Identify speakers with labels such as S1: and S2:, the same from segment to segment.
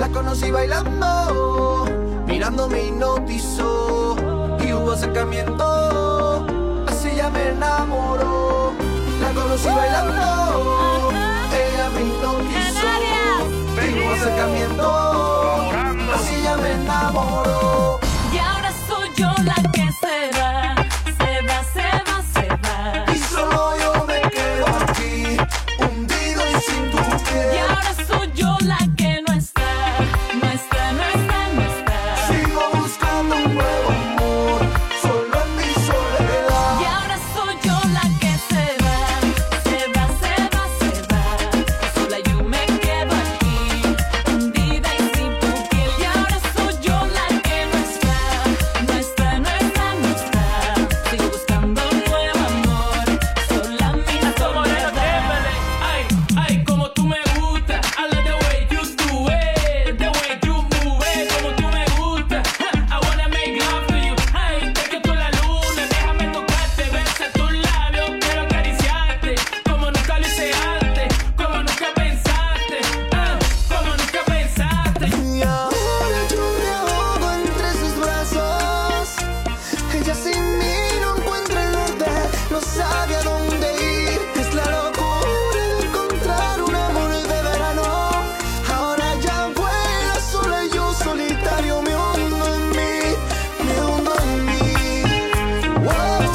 S1: La conocí bailando, mirando me hipnotizó y hubo acercamiento, así ya me enamoró. La conocí bailando, ella me hipnotizó y hubo acercamiento, así ya me enamoró.
S2: Y ahora soy yo la que se va, se va, se va, se va.
S1: Y solo yo me quedo aquí, hundido y sin tu piel.
S2: Y ahora soy yo la que no está, no está, no está, no está.
S1: Sigo buscando un nuevo amor, solo en mi soledad.
S2: Y ahora soy yo la que se va, se va, se va, se va. Sola yo me quedo aquí, hundida y sin tu piel. Y ahora soy yo la que no está, no está, no está, no está. Sigo buscando un nuevo amor, sola en mi soledad.
S3: Ay, ay, como tú me gusta. I love the way you do it, the way you move it, como tú me gusta. I wanna make love to you. Ay, te quito la luna, déjame tocarte, besar tus labios, quiero acariciarte, como nunca lo hice antes, como nunca pensaste, como nunca pensaste.
S1: Y ahora yo me ahogo entre sus brazos. Ella sin mí no encuentra el norte, no sabe a dónde ir. Es la locura de encontrar un amor de verano. Ahora ya vuela sola y yo solitario me hundo en mí, me hundo en mí. Wow,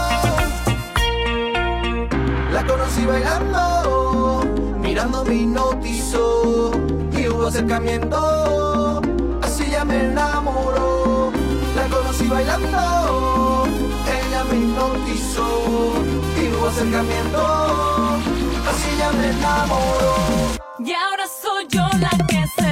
S1: wow. La conocí bailando, mirando me hipnotizó y hubo acercamiento, así ya me enamoró. La conocí bailando, ella me hipnotizó y hubo acercamiento, así ya me enamoró.
S2: Y ahora soy yo la que se